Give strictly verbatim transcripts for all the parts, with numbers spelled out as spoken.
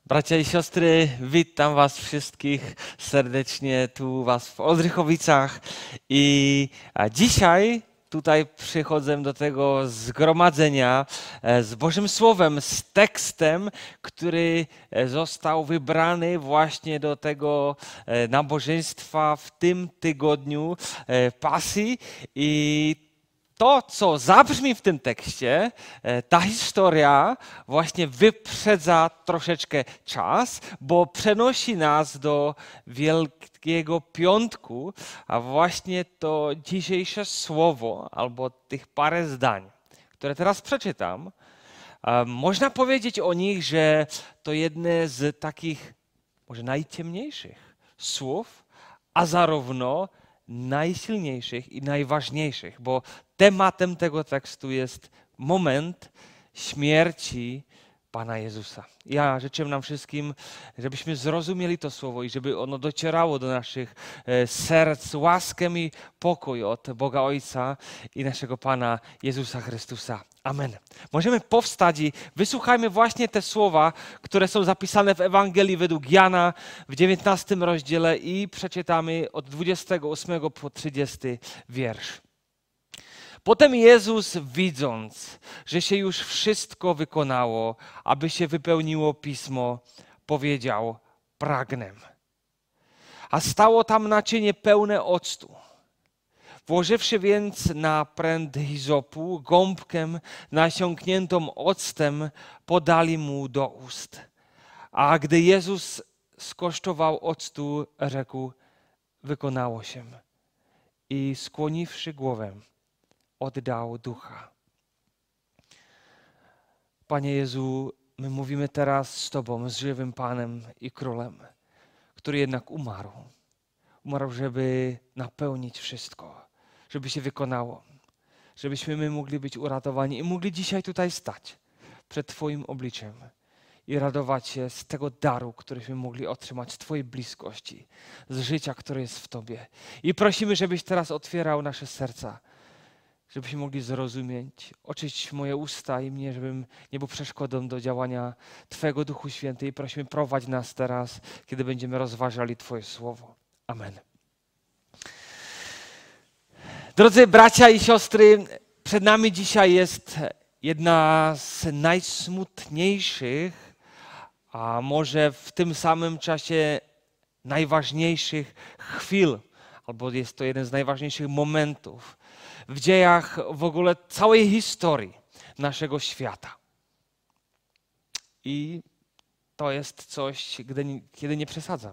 Bracia i siostry, witam was wszystkich serdecznie tu was w Oldřichovicach i dzisiaj tutaj przychodzę do tego zgromadzenia z Bożym Słowem, z tekstem, który został wybrany właśnie do tego nabożeństwa w tym tygodniu Pasji. I to, co zabrzmi w tym tekście, ta historia właśnie wyprzedza troszeczkę czas, bo przenosi nas do Wielkiego Piątku, a właśnie to dzisiejsze słowo, albo tych parę zdań, które teraz przeczytam, można powiedzieć o nich, że to jedne z takich może najciemniejszych słów, a zarówno najsilniejszych i najważniejszych, bo tematem tego tekstu jest moment śmierci Pana Jezusa. Ja życzę nam wszystkim, żebyśmy zrozumieli to słowo i żeby ono docierało do naszych serc łaskę i pokój od Boga Ojca i naszego Pana Jezusa Chrystusa. Amen. Możemy powstać i wysłuchajmy właśnie te słowa, które są zapisane w Ewangelii według Jana w dziewiętnastym rozdziale i przeczytamy od dwudziestego ósmego po trzydziesty wiersz. Potem Jezus, widząc, że się już wszystko wykonało, aby się wypełniło Pismo, powiedział: pragnę. A stało tam naczynie pełne octu. Włożywszy więc na pręt hizopu gąbkę nasiąkniętą octem, podali mu do ust. A gdy Jezus skosztował octu, rzekł: wykonało się. I skłoniwszy głowę, oddał ducha. Panie Jezu, my mówimy teraz z Tobą, z żywym Panem i Królem, który jednak umarł. Umarł, żeby napełnić wszystko, żeby się wykonało, żebyśmy my mogli być uratowani i mogli dzisiaj tutaj stać przed Twoim obliczem i radować się z tego daru, któryśmy mogli otrzymać z Twojej bliskości, z życia, które jest w Tobie. I prosimy, żebyś teraz otwierał nasze serca, żebyśmy mogli zrozumieć, oczyścić moje usta i mnie, żebym nie był przeszkodą do działania Twojego Duchu Święty. I prosimy, prowadź nas teraz, kiedy będziemy rozważali Twoje słowo. Amen. Drodzy bracia i siostry, przed nami dzisiaj jest jedna z najsmutniejszych, a może w tym samym czasie najważniejszych chwil, albo jest to jeden z najważniejszych momentów w dziejach w ogóle całej historii naszego świata. I to jest coś, gdy, kiedy nie przesadzam.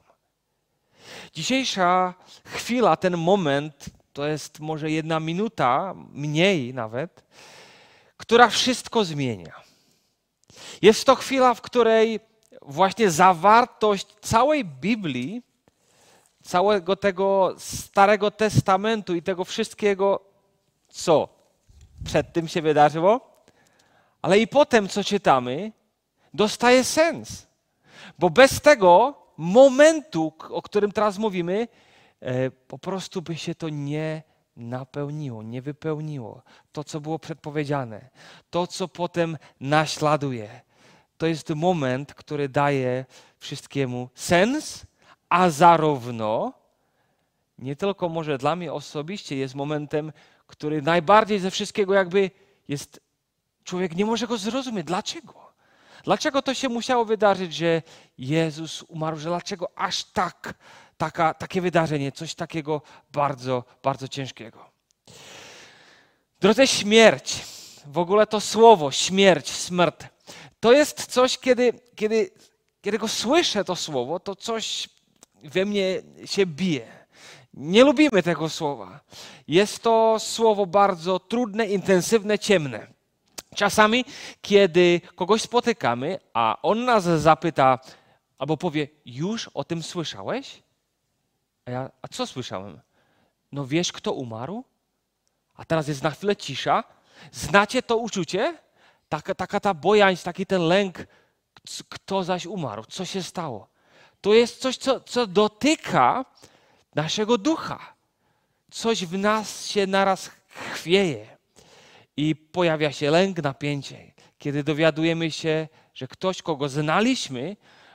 Dzisiejsza chwila, ten moment, to jest może jedna minuta, mniej nawet, która wszystko zmienia. Jest to chwila, w której właśnie zawartość całej Biblii, całego tego Starego Testamentu i tego wszystkiego, co przed tym się wydarzyło, ale i potem, co czytamy, dostaje sens. Bo bez tego momentu, o którym teraz mówimy, po prostu by się to nie napełniło, nie wypełniło. To, co było przedpowiedziane, to, co potem naśladuje. To jest moment, który daje wszystkiemu sens, a zarówno nie tylko może dla mnie osobiście jest momentem, który najbardziej ze wszystkiego jakby jest, człowiek nie może go zrozumieć. Dlaczego? Dlaczego to się musiało wydarzyć, że Jezus umarł, że dlaczego aż tak, taka, takie wydarzenie, coś takiego bardzo, bardzo ciężkiego. Drodzy, śmierć, w ogóle to słowo, śmierć, smrt, to jest coś, kiedy, kiedy, kiedy go słyszę, to słowo, to coś we mnie się bije. Nie lubimy tego słowa. Jest to słowo bardzo trudne, intensywne, ciemne. Czasami, kiedy kogoś spotykamy, a on nas zapyta albo powie: już o tym słyszałeś? A ja, a co słyszałem? No wiesz, kto umarł? A teraz jest na chwilę cisza. Znacie to uczucie? Taka, taka ta bojaźń, taki ten lęk. Kto zaś umarł? Co się stało? To jest coś, co, co dotyka naszego ducha. Coś w nas się naraz chwieje i pojawia się lęk, napięcie. Kiedy dowiadujemy się, że ktoś, kogo znaliśmy,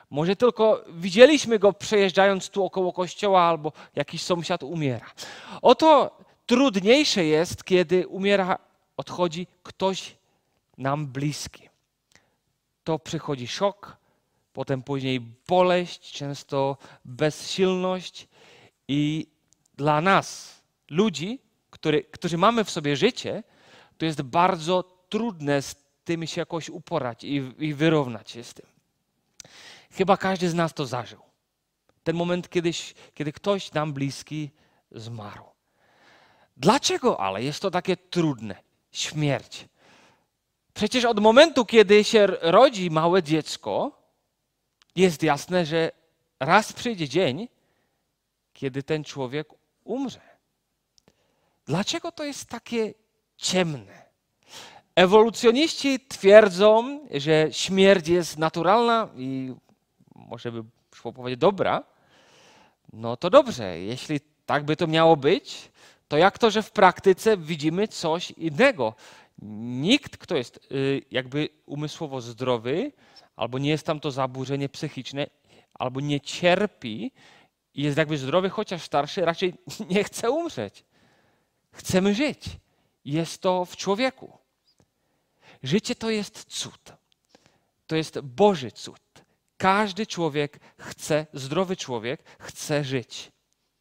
Może tylko widzieliśmy go przejeżdżając tu około kościoła albo jakiś sąsiad umiera. Oto trudniejsze jest, kiedy umiera, odchodzi ktoś nam bliski. To przychodzi szok, potem później boleść, często bezsilność i dla nas, ludzi, który, którzy mamy w sobie życie, to jest bardzo trudne z tym się jakoś uporać i, i wyrównać się z tym. Chyba każdy z nas to zażył. Ten moment, kiedyś, kiedy ktoś nam bliski zmarł. Dlaczego ale jest to takie trudne? Śmierć. Przecież od momentu, kiedy się rodzi małe dziecko, jest jasne, że raz przyjdzie dzień, kiedy ten człowiek umrze. Dlaczego to jest takie ciemne? Ewolucjoniści twierdzą, że śmierć jest naturalna i może by szło powiedzieć dobra. No to dobrze, jeśli tak by to miało być, to jak to, że w praktyce widzimy coś innego? Nikt, kto jest jakby umysłowo zdrowy, albo nie jest tam to zaburzenie psychiczne, albo nie cierpi i jest jakby zdrowy, chociaż starszy, raczej nie chce umrzeć. Chcemy żyć. Jest to w człowieku. Życie to jest cud. To jest Boży cud. Każdy człowiek chce, zdrowy człowiek chce żyć.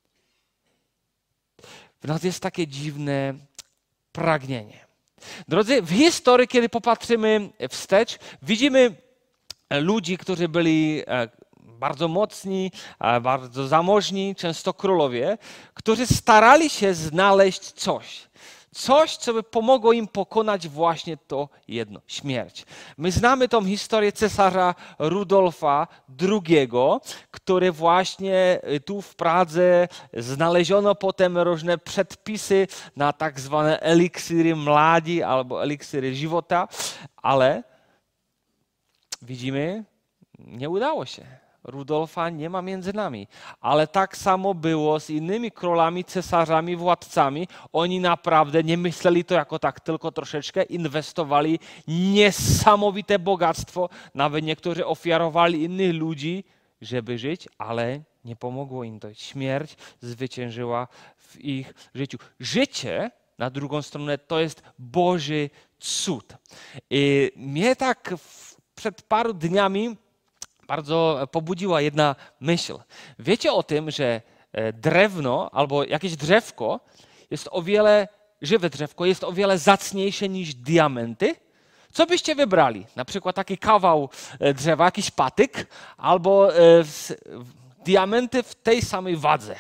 W nas jest takie dziwne pragnienie. Drodzy, w historii, kiedy popatrzymy wstecz, widzimy ludzi, którzy byli bardzo mocni, bardzo zamożni, często królowie, którzy starali się znaleźć coś. Coś, co by pomogło im pokonać właśnie to jedno, śmierć. My znamy tą historię cesarza Rudolfa drugiego, który właśnie tu w Pradze znaleziono potem różne przedpisy na tak zwane eliksiry mladzi albo eliksiry żywota, ale widzimy, nie udało się. Rudolfa nie ma między nami. Ale tak samo było z innymi królami, cesarzami, władcami. Oni naprawdę nie myśleli to jako tak tylko troszeczkę, inwestowali niesamowite bogactwo. Nawet niektórzy ofiarowali innych ludzi, żeby żyć, ale nie pomogło im to. Śmierć zwyciężyła w ich życiu. Życie, na drugą stronę, to jest Boży cud. I mnie tak przed paru dniami bardzo pobudziła jedna myśl. Wiecie o tym, że drewno albo jakieś drzewko jest o wiele, żywe drzewko jest o wiele zacniejsze niż diamenty? Co byście wybrali? Na przykład taki kawał drzewa, jakiś patyk albo diamenty w tej samej wadze.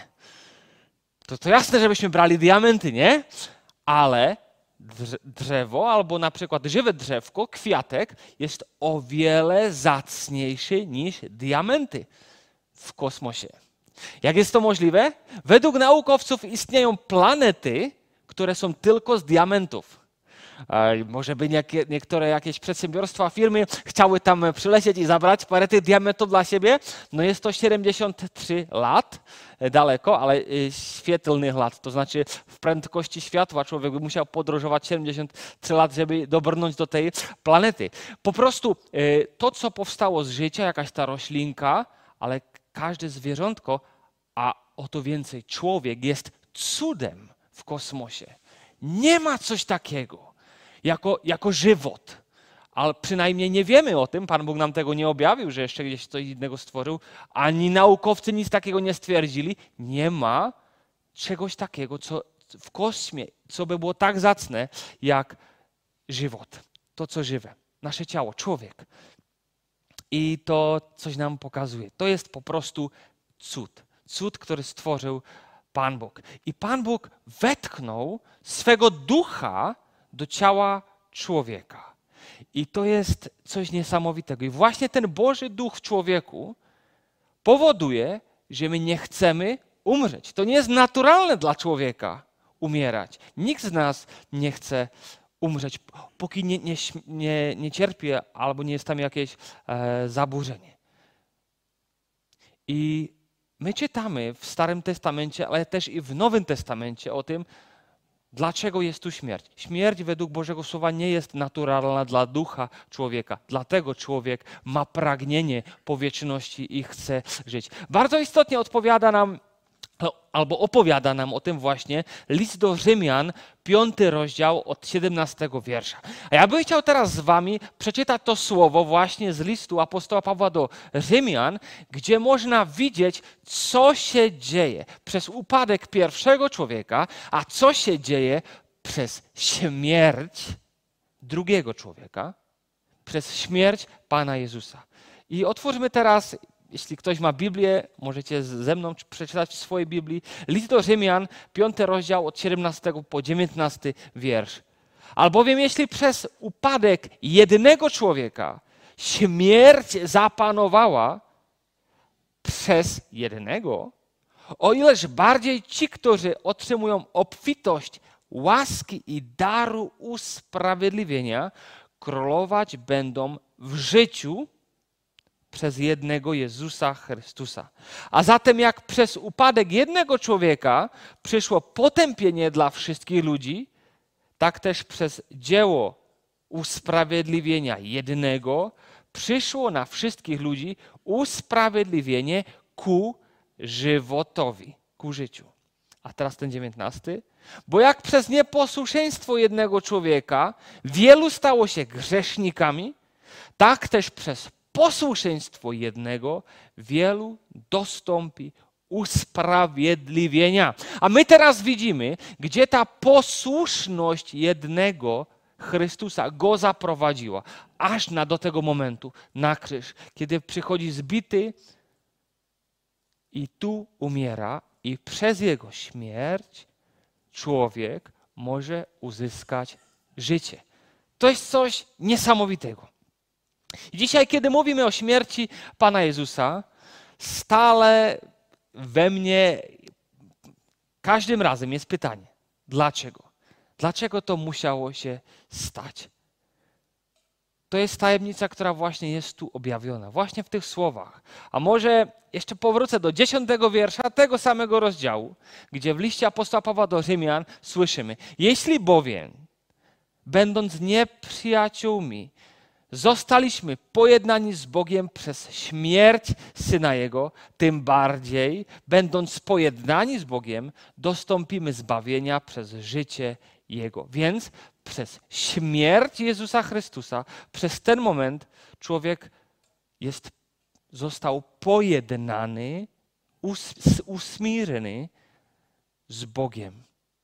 To, to jasne, żebyśmy brali diamenty, nie? Ale drzewo albo na przykład żywe drzewko, kwiatek jest o wiele zacniejszy niż diamenty w kosmosie. Jak jest to możliwe? Według naukowców istnieją planety, które są tylko z diamentów. Może by niekie, niektóre jakieś przedsiębiorstwa, firmy chciały tam przylecieć i zabrać parę tych diamentów dla siebie. No jest to siedemdziesiąt trzy lat daleko, ale świetlnych lat. To znaczy w prędkości światła człowiek by musiał podróżować siedemdziesiąt trzy lat, żeby dobrnąć do tej planety. Po prostu to, co powstało z życia, jakaś ta roślinka, ale każde zwierzątko, a o to więcej człowiek jest cudem w kosmosie. Nie ma coś takiego jako, jako żywot. Ale przynajmniej nie wiemy o tym, Pan Bóg nam tego nie objawił, że jeszcze gdzieś coś innego stworzył, ani naukowcy nic takiego nie stwierdzili. Nie ma czegoś takiego, co w kosmie, co by było tak zacne, jak żywot. To, co żywe. Nasze ciało, człowiek. I to coś nam pokazuje. To jest po prostu cud. Cud, który stworzył Pan Bóg. I Pan Bóg wetknął swego ducha do ciała człowieka. I to jest coś niesamowitego. I właśnie ten Boży Duch w człowieku powoduje, że my nie chcemy umrzeć. To nie jest naturalne dla człowieka umierać. Nikt z nas nie chce umrzeć, póki nie, nie, nie, nie cierpi albo nie jest tam jakieś e, zaburzenie. I my czytamy w Starym Testamencie, ale też i w Nowym Testamencie o tym, Dlaczego jest tu śmierć? Śmierć według Bożego Słowa nie jest naturalna dla ducha człowieka. Dlatego człowiek ma pragnienie po wieczności i chce żyć. Bardzo istotnie odpowiada nam, albo opowiada nam o tym właśnie list do Rzymian, piąty rozdział od siedemnastego wiersza. A ja bym chciał teraz z wami przeczytać to słowo właśnie z listu apostoła Pawła do Rzymian, gdzie można widzieć, co się dzieje przez upadek pierwszego człowieka, a co się dzieje przez śmierć drugiego człowieka, przez śmierć Pana Jezusa. I otwórzmy teraz, jeśli ktoś ma Biblię, możecie ze mną przeczytać w swojej Biblii. List do Rzymian, piąty rozdział od siedemnastego po dziewiętnasty wiersz. Albowiem jeśli przez upadek jednego człowieka śmierć zapanowała przez jednego, o ileż bardziej ci, którzy otrzymują obfitość łaski i daru usprawiedliwienia, królować będą w życiu przez jednego Jezusa Chrystusa. A zatem jak przez upadek jednego człowieka przyszło potępienie dla wszystkich ludzi, tak też przez dzieło usprawiedliwienia jednego przyszło na wszystkich ludzi usprawiedliwienie ku żywotowi, ku życiu. A teraz ten dziewiętnasty. Bo jak przez nieposłuszeństwo jednego człowieka wielu stało się grzesznikami, tak też przez posłuszeństwo jednego wielu dostąpi usprawiedliwienia. A my teraz widzimy, gdzie ta posłuszność jednego Chrystusa go zaprowadziła, aż na do tego momentu, na krzyż, kiedy przychodzi zbity i tu umiera i przez jego śmierć człowiek może uzyskać życie. To jest coś niesamowitego. I dzisiaj, kiedy mówimy o śmierci Pana Jezusa, stale we mnie każdym razem jest pytanie, dlaczego? Dlaczego to musiało się stać? To jest tajemnica, która właśnie jest tu objawiona, właśnie w tych słowach. A może jeszcze powrócę do dziesiątego wiersza tego samego rozdziału, gdzie w liście apostoła Pawła do Rzymian słyszymy: jeśli bowiem, będąc nieprzyjaciółmi, zostaliśmy pojednani z Bogiem przez śmierć Syna Jego, tym bardziej, będąc pojednani z Bogiem, dostąpimy zbawienia przez życie Jego. Więc przez śmierć Jezusa Chrystusa, przez ten moment człowiek jest, został pojednany, us, usmirny z Bogiem.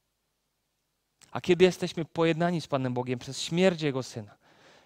A kiedy jesteśmy pojednani z Panem Bogiem przez śmierć Jego Syna,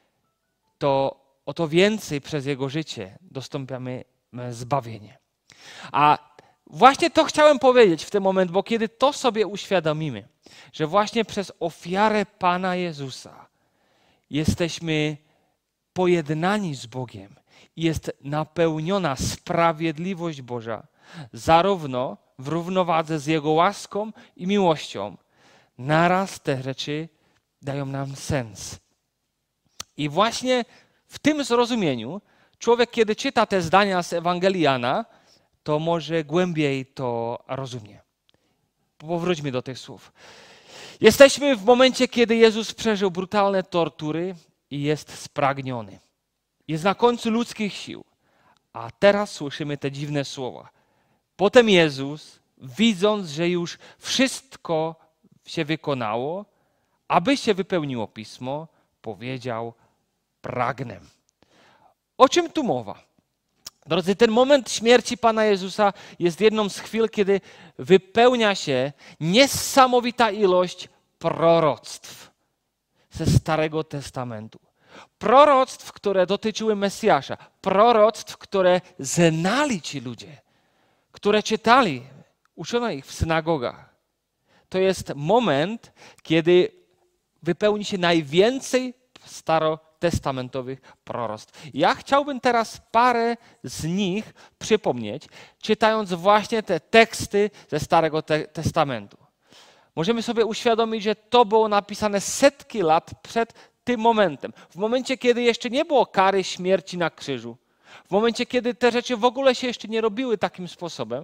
to o to więcej przez Jego życie dostąpiamy zbawienie. A właśnie to chciałem powiedzieć w tym momencie, bo kiedy to sobie uświadomimy, że właśnie przez ofiarę Pana Jezusa jesteśmy pojednani z Bogiem i jest napełniona sprawiedliwość Boża, zarówno w równowadze z Jego łaską i miłością, naraz te rzeczy dają nam sens. I właśnie w tym zrozumieniu człowiek, kiedy czyta te zdania z Ewangelii Jana, to może głębiej to rozumie. Powróćmy do tych słów. Jesteśmy w momencie, kiedy Jezus przeżył brutalne tortury i jest spragniony. Jest na końcu ludzkich sił. A teraz słyszymy te dziwne słowa. Potem Jezus, widząc, że już wszystko się wykonało, aby się wypełniło Pismo, powiedział: pragnę. O czym tu mowa? Drodzy, ten moment śmierci Pana Jezusa jest jedną z chwil, kiedy wypełnia się niesamowita ilość proroctw ze Starego Testamentu. Proroctw, które dotyczyły Mesjasza. Proroctw, które znali ci ludzie, które czytali, uczono ich w synagogach. To jest moment, kiedy wypełni się najwięcej starotestamentowych proroctw. Ja chciałbym teraz parę z nich przypomnieć, czytając właśnie te teksty ze Starego te- Testamentu. Możemy sobie uświadomić, że to było napisane setki lat przed tym momentem. W momencie, kiedy jeszcze nie było kary śmierci na krzyżu. W momencie, kiedy te rzeczy w ogóle się jeszcze nie robiły takim sposobem.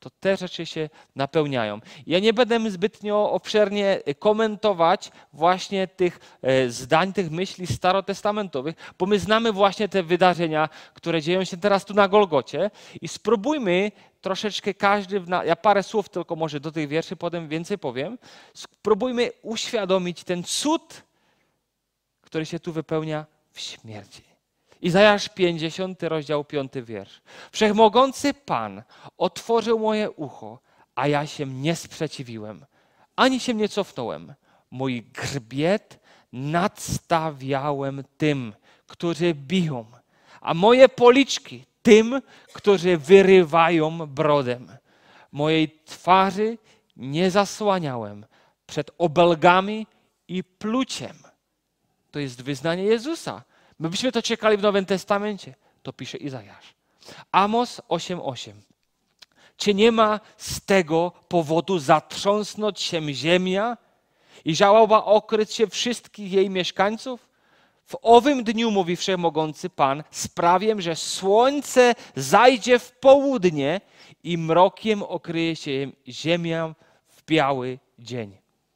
to te rzeczy się napełniają. Ja nie będę zbytnio obszernie komentować właśnie tych zdań, tych myśli starotestamentowych, bo my znamy właśnie te wydarzenia, które dzieją się teraz tu na Golgocie i spróbujmy troszeczkę każdy, ja parę słów tylko może do tych wierszy, potem więcej powiem, spróbujmy uświadomić ten cud, który się tu wypełnia w śmierci. Izajasz pięćdziesiąty rozdział piąty wiersz. Wszechmogący Pan otworzył moje ucho, a ja się nie sprzeciwiłem, ani się nie cofnąłem. Mój grzbiet nadstawiałem tym, którzy biją, a moje policzki tym, którzy wyrywają brodem. Mojej twarzy nie zasłaniałem przed obelgami i pluciem. To jest wyznanie Jezusa. My byśmy to czekali w Nowym Testamencie. To pisze Izajasz. Amos osiem osiem. Czy nie ma z tego powodu zatrząsnąć się ziemia i żałoba okryć się wszystkich jej mieszkańców? W owym dniu, mówi Wszechmogący Pan, sprawię, że słońce zajdzie w południe i mrokiem okryje się ziemia w biały dzień.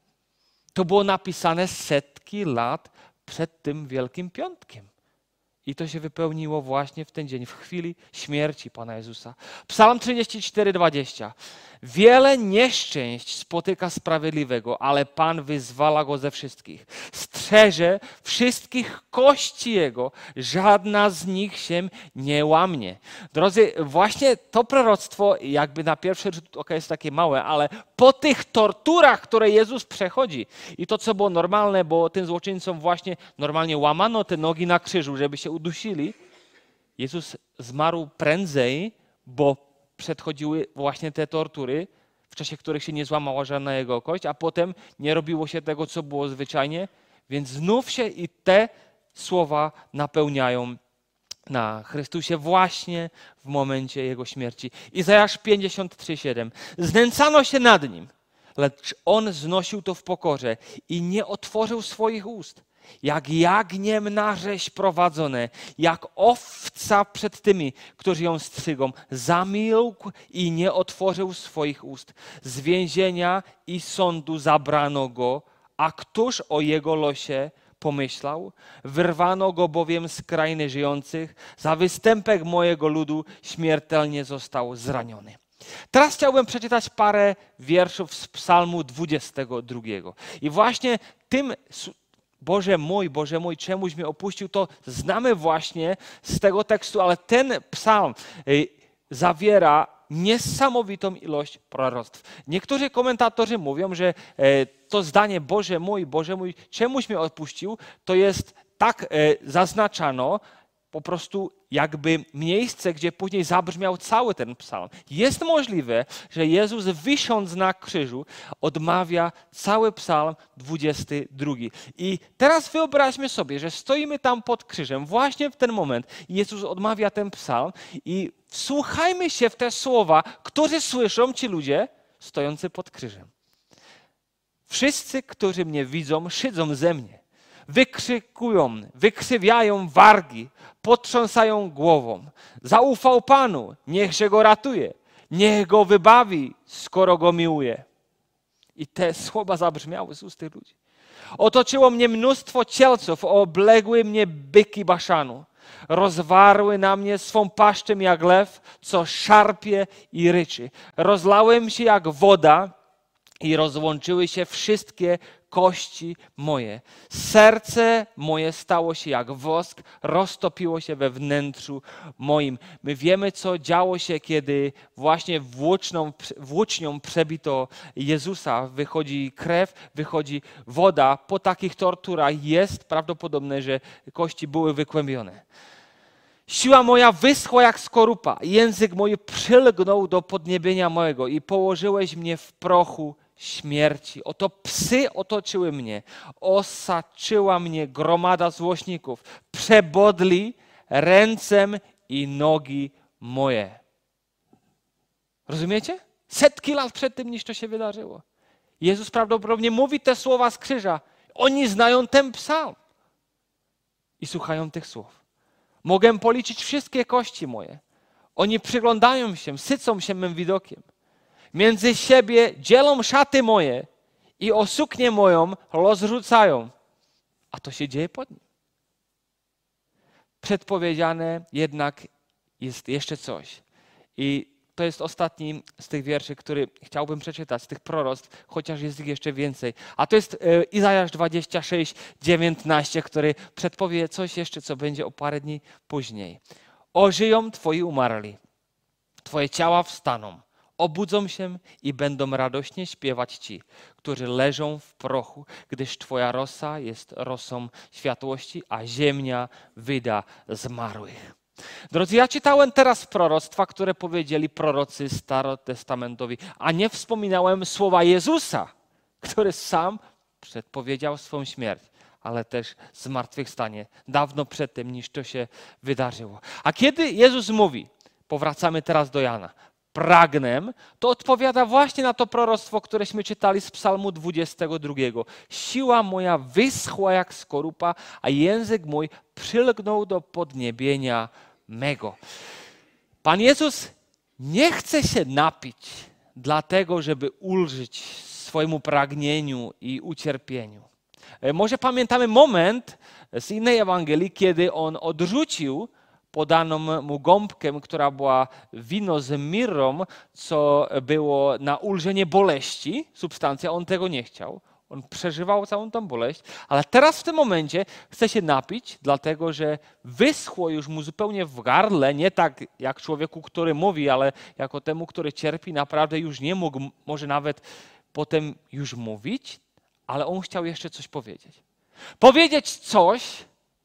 To było napisane setki lat przed tym Wielkim Piątkiem. I to się wypełniło właśnie w ten dzień, w chwili śmierci Pana Jezusa. Psalm trzydzieści cztery dwadzieścia. Wiele nieszczęść spotyka sprawiedliwego, ale Pan wyzwala go ze wszystkich. Strzeże wszystkich kości jego, żadna z nich się nie łamie. Drodzy, właśnie to proroctwo jakby na pierwszy rzut oka jest takie małe, ale po tych torturach, które Jezus przechodzi i to, co było normalne, bo tym złoczyńcom właśnie normalnie łamano te nogi na krzyżu, żeby się udusili, Jezus zmarł prędzej, bo przedchodziły właśnie te tortury, w czasie których się nie złamała żadna jego kość, a potem nie robiło się tego, co było zwyczajnie, więc znów się i te słowa napełniają na Chrystusie właśnie w momencie Jego śmierci. Izajasz pięćdziesiąt trzy siedem. Znęcano się nad Nim, lecz On znosił to w pokorze i nie otworzył swoich ust. Jak jagniem na rzeź prowadzone, jak owca przed tymi, którzy ją strzygą. Zamilkł i nie otworzył swoich ust. Z więzienia i sądu zabrano go, a któż o jego losie pomyślał? Wyrwano go bowiem z krainy żyjących, za występek mojego ludu śmiertelnie został zraniony. Teraz chciałbym przeczytać parę wierszów z Psalmu dwudziestego drugiego. I właśnie tym Boże mój, Boże mój, czemuś mnie opuścił, to znamy właśnie z tego tekstu, ale ten psalm zawiera niesamowitą ilość proroctw. Niektórzy komentatorzy mówią, że to zdanie Boże mój, Boże mój, czemuś mnie odpuścił, to jest tak zaznaczano, po prostu jakby miejsce, gdzie później zabrzmiał cały ten psalm. Jest możliwe, że Jezus wisząc na krzyżu odmawia cały psalm dwudziesty drugi. I teraz wyobraźmy sobie, że stoimy tam pod krzyżem, właśnie w ten moment Jezus odmawia ten psalm i wsłuchajmy się w te słowa, które słyszą ci ludzie stojący pod krzyżem. Wszyscy, którzy mnie widzą, szydzą ze mnie. Wykrzykują, wykrzywiają wargi, potrząsają głową. Zaufał Panu, niechże go ratuje, niech go wybawi, skoro go miłuje. I te słowa zabrzmiały z ust tych ludzi. Otoczyło mnie mnóstwo cielców, obległy mnie byki Baszanu. Rozwarły na mnie swą paszczę jak lew, co szarpie i ryczy. Rozlałem się jak woda i rozłączyły się wszystkie kości moje. Serce moje stało się jak wosk, roztopiło się we wnętrzu moim. My wiemy, co działo się, kiedy właśnie włóczną, włócznią przebito Jezusa. Wychodzi krew, wychodzi woda. Po takich torturach jest prawdopodobne, że kości były wykłębione. Siła moja wyschła jak skorupa, język mój przylgnął do podniebienia mojego i położyłeś mnie w prochu śmierci. Oto psy otoczyły mnie, osaczyła mnie gromada złośników, przebodli ręcem i nogi moje. Rozumiecie? Setki lat przed tym, niż to się wydarzyło. Jezus prawdopodobnie mówi te słowa z krzyża. Oni znają ten psalm i słuchają tych słów. Mogę policzyć wszystkie kości moje. Oni przyglądają się, sycą się mym widokiem. Między siebie dzielą szaty moje i o suknię moją rozrzucają. A to się dzieje pod nim. Przedpowiedziane jednak jest jeszcze coś. I to jest ostatni z tych wierszy, który chciałbym przeczytać, z tych proroctw, chociaż jest ich jeszcze więcej. A to jest Izajasz dwadzieścia sześć, dziewiętnaście, który przedpowie coś jeszcze, co będzie o parę dni później. Ożyją twoi umarli, twoje ciała wstaną, obudzą się i będą radośnie śpiewać ci, którzy leżą w prochu, gdyż twoja rosa jest rosą światłości, a ziemia wyda zmarłych. Drodzy, ja czytałem teraz proroctwa, które powiedzieli prorocy starotestamentowi, a nie wspominałem słowa Jezusa, który sam przedpowiedział swą śmierć, ale też zmartwychwstanie dawno przed tym, niż to się wydarzyło. A kiedy Jezus mówi, powracamy teraz do Jana, pragnę, to odpowiada właśnie na to proroctwo, któreśmy czytali z Psalmu dwudziestego drugiego. Siła moja wyschła jak skorupa, a język mój przylgnął do podniebienia mego. Pan Jezus nie chce się napić dlatego, żeby ulżyć swojemu pragnieniu i ucierpieniu. Może pamiętamy moment z innej Ewangelii, kiedy on odrzucił podaną mu gąbkę, która była wino z mirrą, co było na ulżenie boleści, substancja, on tego nie chciał. On przeżywał całą tą boleść, ale teraz w tym momencie chce się napić, dlatego że wyschło już mu zupełnie w gardle, nie tak jak człowieku, który mówi, ale jako temu, który cierpi, naprawdę już nie mógł może nawet potem już mówić, ale on chciał jeszcze coś powiedzieć. Powiedzieć coś,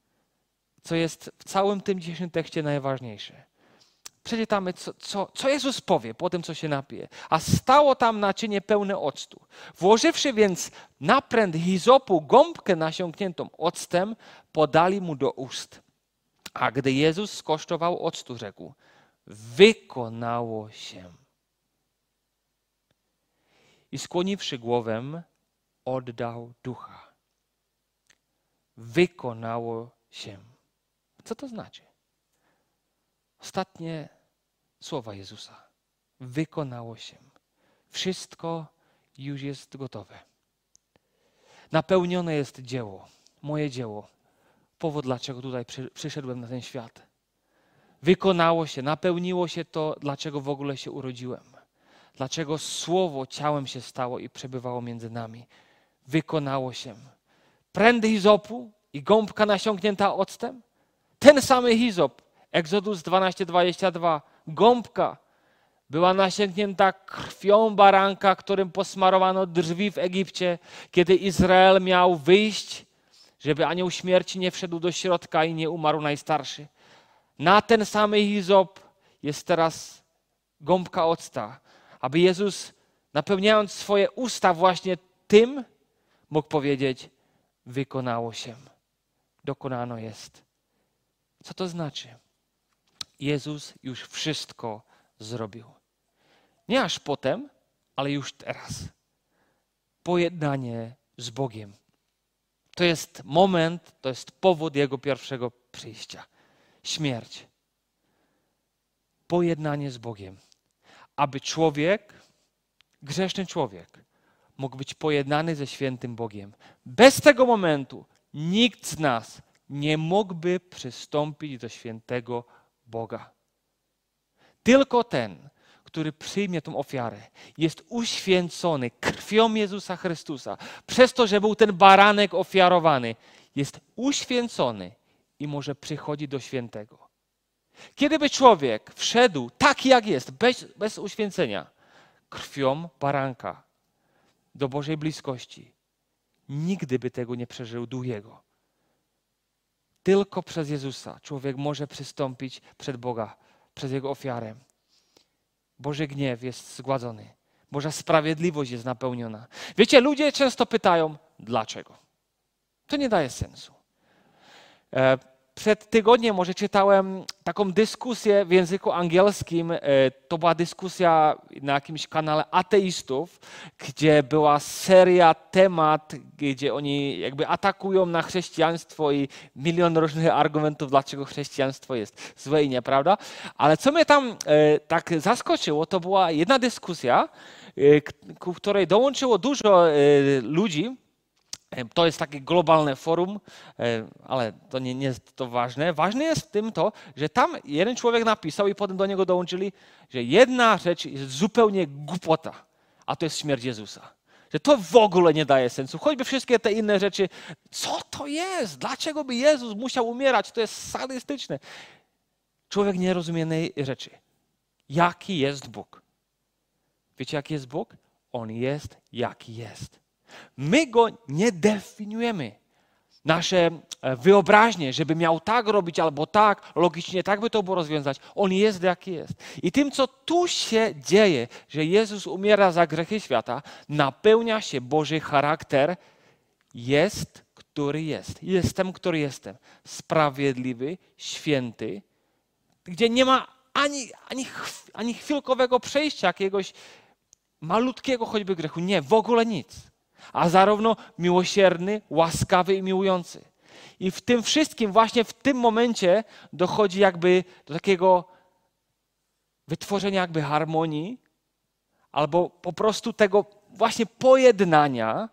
co jest w całym tym dzisiejszym tekście najważniejsze. Przeczytamy, co, co, co Jezus powie po tym, co się napije. A stało tam naczynie pełne octu. Włożywszy więc na pręt hizopu gąbkę nasiąkniętą octem, podali mu do ust. A gdy Jezus skosztował octu, rzekł, wykonało się. I skłoniwszy głowę, oddał ducha. Wykonało się. Co to znaczy? Ostatnie słowa Jezusa. Wykonało się. Wszystko już jest gotowe. Napełnione jest dzieło, moje dzieło. Powód, dlaczego tutaj przy, przyszedłem na ten świat. Wykonało się, napełniło się to, dlaczego w ogóle się urodziłem. Dlaczego Słowo ciałem się stało i przebywało między nami. Wykonało się. Prędy hizopu i gąbka nasiąknięta octem. Ten samy hizop, Exodus dwanaście dwadzieścia dwa, gąbka była nasięgnięta krwią baranka, którym posmarowano drzwi w Egipcie, kiedy Izrael miał wyjść, żeby anioł śmierci nie wszedł do środka i nie umarł najstarszy. Na ten samy hizop jest teraz gąbka octa, aby Jezus, napełniając swoje usta właśnie tym, mógł powiedzieć, wykonało się, dokonano jest. Co to znaczy? Jezus już wszystko zrobił. Nie aż potem, ale już teraz. Pojednanie z Bogiem. To jest moment, to jest powód Jego pierwszego przyjścia. Śmierć. Pojednanie z Bogiem. Aby człowiek, grzeszny człowiek, mógł być pojednany ze świętym Bogiem. Bez tego momentu nikt z nas nie mógłby przystąpić do świętego Boga. Tylko ten, który przyjmie tę ofiarę, jest uświęcony krwią Jezusa Chrystusa. Przez to, że był ten baranek ofiarowany, jest uświęcony i może przychodzić do świętego. Kiedyby człowiek wszedł tak jak jest, bez, bez uświęcenia, krwią baranka do Bożej bliskości, nigdy by tego nie przeżył duch Jego. Tylko przez Jezusa człowiek może przystąpić przed Boga, przez Jego ofiarę. Boży gniew jest zgładzony. Boża sprawiedliwość jest napełniona. Wiecie, ludzie często pytają, dlaczego? To nie daje sensu. Przed tygodniem może czytałem taką dyskusję w języku angielskim. To była dyskusja na jakimś kanale ateistów, gdzie była seria temat, gdzie oni jakby atakują na chrześcijaństwo i milion różnych argumentów, dlaczego chrześcijaństwo jest złe i nieprawda. Ale co mnie tam tak zaskoczyło, to była jedna dyskusja, ku której dołączyło dużo ludzi. To jest takie globalne forum, ale to nie, nie jest to ważne. Ważne jest w tym to, że tam jeden człowiek napisał i potem do niego dołączyli, że jedna rzecz jest zupełnie głupota, a to jest śmierć Jezusa. Że to w ogóle nie daje sensu. Choćby wszystkie te inne rzeczy. Co to jest? Dlaczego by Jezus musiał umierać? To jest sadystyczne. Człowiek nie rozumie jednej rzeczy. Jaki jest Bóg? Wiecie, jaki jest Bóg? On jest, jaki jest. My Go nie definiujemy. Nasze wyobraźnie, żeby miał tak robić albo tak, logicznie tak by to było rozwiązać. On jest, jaki jest. I tym, co tu się dzieje, że Jezus umiera za grzechy świata, napełnia się Boży charakter. Jest, który jest. Jestem, który jestem. Sprawiedliwy, święty, gdzie nie ma ani, ani, ani chwilkowego przejścia jakiegoś malutkiego choćby grzechu. Nie, w ogóle nic. A zarówno miłosierny, łaskawy i miłujący. I w tym wszystkim, właśnie w tym momencie dochodzi jakby do takiego wytworzenia jakby harmonii albo po prostu tego właśnie pojednania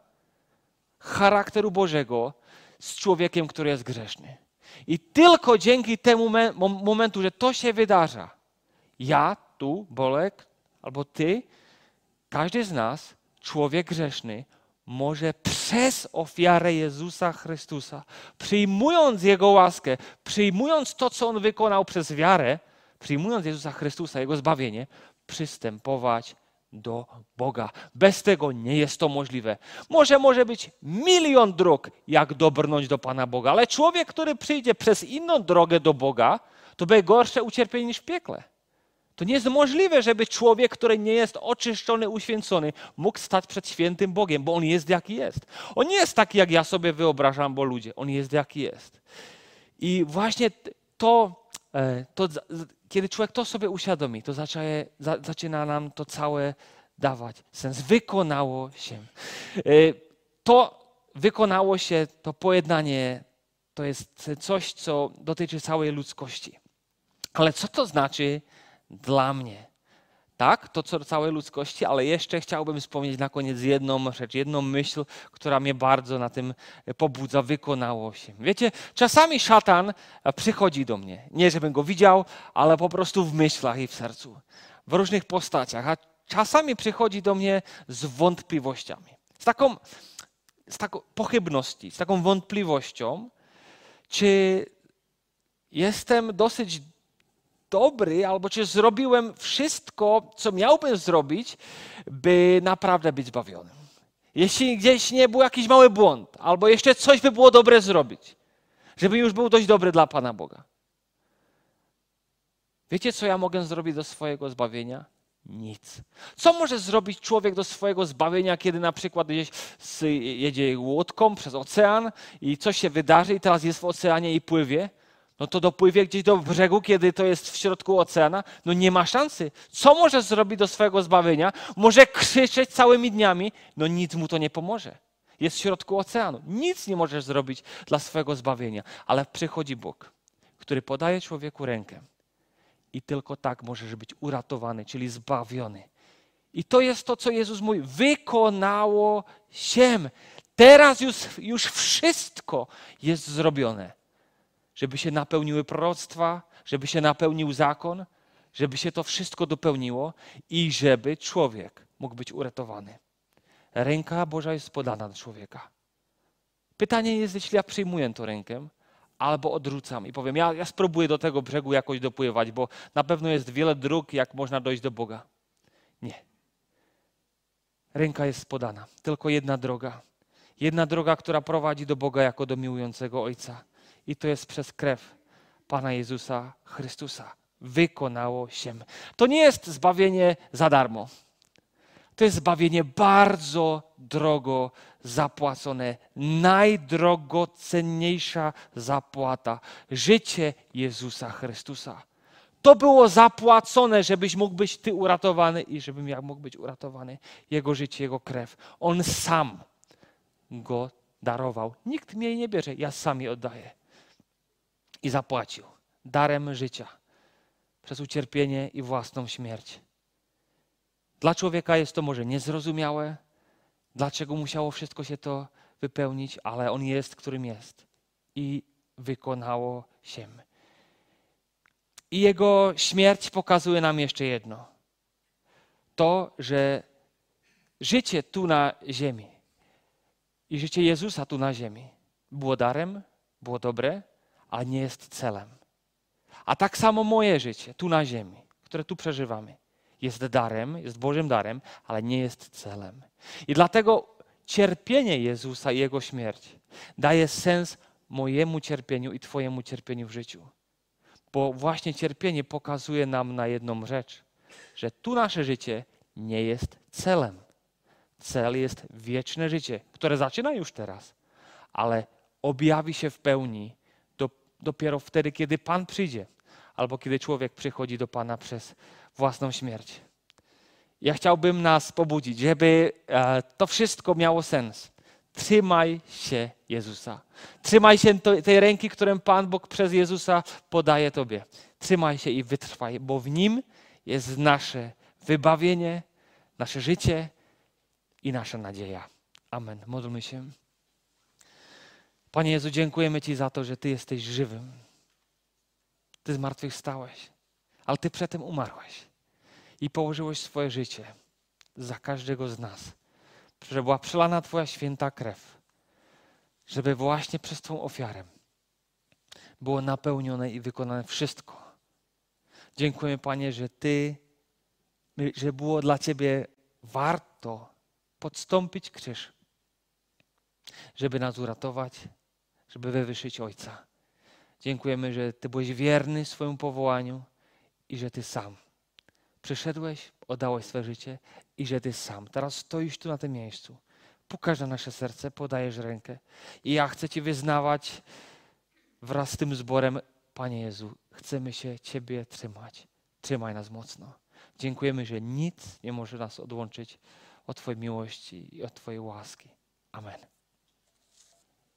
charakteru Bożego z człowiekiem, który jest grzeszny. I tylko dzięki temu momentu, że to się wydarza, ja tu, Bolek, albo ty, każdy z nas, człowiek grzeszny, może przez ofiarę Jezusa Chrystusa, przyjmując Jego łaskę, przyjmując to, co On wykonał przez wiarę, przyjmując Jezusa Chrystusa, Jego zbawienie, przystępować do Boga. Bez tego nie jest to możliwe. Może może być milion dróg, jak dobrnąć do Pana Boga, ale człowiek, który przyjdzie przez inną drogę do Boga, to będzie gorsze ucierpienie niż w piekle. To nie jest możliwe, żeby człowiek, który nie jest oczyszczony, uświęcony, mógł stać przed świętym Bogiem, bo On jest jaki jest. On nie jest taki, jak ja sobie wyobrażam, bo ludzie. On jest jaki jest. I właśnie to, to kiedy człowiek to sobie uświadomi, to zaczyna, zaczyna nam to całe dawać sens. Wykonało się. To wykonało się, to pojednanie, to jest coś, co dotyczy całej ludzkości. Ale co to znaczy dla mnie? Tak, to co całej ludzkości, ale jeszcze chciałbym wspomnieć na koniec jedną rzecz, jedną myśl, która mnie bardzo na tym pobudza, wykonało się. Wiecie, czasami szatan przychodzi do mnie, nie żebym go widział, ale po prostu w myślach i w sercu, w różnych postaciach, a czasami przychodzi do mnie z wątpliwościami, z taką, z taką pochybności, z taką wątpliwością, czy jestem dosyć dobry, albo czy zrobiłem wszystko, co miałbym zrobić, by naprawdę być zbawionym. Jeśli gdzieś nie był jakiś mały błąd, albo jeszcze coś by było dobre zrobić, żeby już był dość dobry dla Pana Boga. Wiecie, co ja mogę zrobić do swojego zbawienia? Nic. Co może zrobić człowiek do swojego zbawienia, kiedy na przykład gdzieś jedzie łódką przez ocean i coś się wydarzy i teraz jest w oceanie i pływie? No to dopływie gdzieś do brzegu, kiedy to jest w środku oceana. No nie ma szansy. Co może zrobić do swojego zbawienia? Może krzyczeć całymi dniami. No nic mu to nie pomoże. Jest w środku oceanu. Nic nie możesz zrobić dla swojego zbawienia. Ale przychodzi Bóg, który podaje człowieku rękę. I tylko tak możesz być uratowany, czyli zbawiony. I to jest to, co Jezus mówi. Wykonało się. Teraz już, już wszystko jest zrobione. Żeby się napełniły proroctwa, żeby się napełnił zakon, żeby się to wszystko dopełniło i żeby człowiek mógł być uratowany. Ręka Boża jest podana do człowieka. Pytanie jest, jeśli ja przyjmuję tę rękę, albo odrzucam i powiem, ja, ja spróbuję do tego brzegu jakoś dopływać, bo na pewno jest wiele dróg, jak można dojść do Boga. Nie. Ręka jest podana. Tylko jedna droga. Jedna droga, która prowadzi do Boga jako do miłującego Ojca. I to jest przez krew Pana Jezusa Chrystusa. Wykonało się. To nie jest zbawienie za darmo. To jest zbawienie bardzo drogo zapłacone. Najdrogocenniejsza zapłata. Życie Jezusa Chrystusa. To było zapłacone, żebyś mógł być ty uratowany i żebym ja mógł być uratowany. Jego życie, Jego krew. On sam go darował. Nikt mnie jej nie bierze, ja sam je oddaję. I zapłacił darem życia przez ucierpienie i własną śmierć. Dla człowieka jest to może niezrozumiałe, dlaczego musiało wszystko się to wypełnić, ale On jest, którym jest. I wykonało się. I Jego śmierć pokazuje nam jeszcze jedno. To, że życie tu na ziemi i życie Jezusa tu na ziemi było darem, było dobre, ale nie jest celem. A tak samo moje życie tu na ziemi, które tu przeżywamy, jest darem, jest Bożym darem, ale nie jest celem. I dlatego cierpienie Jezusa i Jego śmierć daje sens mojemu cierpieniu i Twojemu cierpieniu w życiu. Bo właśnie cierpienie pokazuje nam na jedną rzecz, że tu nasze życie nie jest celem. Cel jest wieczne życie, które zaczyna już teraz, ale objawi się w pełni do, dopiero wtedy, kiedy Pan przyjdzie, albo kiedy człowiek przychodzi do Pana przez własną śmierć. Ja chciałbym nas pobudzić, żeby e, to wszystko miało sens. Trzymaj się Jezusa. Trzymaj się to, tej ręki, którą Pan Bóg przez Jezusa podaje Tobie. Trzymaj się i wytrwaj, bo w Nim jest nasze wybawienie, nasze życie i nasza nadzieja. Amen. Módlmy się. Panie Jezu, dziękujemy Ci za to, że Ty jesteś żywym. Ty zmartwychwstałeś, ale Ty przedtem umarłeś i położyłeś swoje życie za każdego z nas, że była przelana Twoja święta krew, żeby właśnie przez Twą ofiarę było napełnione i wykonane wszystko. Dziękujemy, Panie, że Ty, że było dla Ciebie warto podstąpić krzyż, żeby nas uratować, żeby wywyższyć Ojca. Dziękujemy, że Ty byłeś wierny swojemu powołaniu i że Ty sam przyszedłeś, oddałeś swoje życie i że Ty sam teraz stoisz tu na tym miejscu. Pukasz na nasze serce, podajesz rękę i ja chcę Ci wyznawać wraz z tym zborem, Panie Jezu, chcemy się Ciebie trzymać. Trzymaj nas mocno. Dziękujemy, że nic nie może nas odłączyć od Twojej miłości i od Twojej łaski. Amen.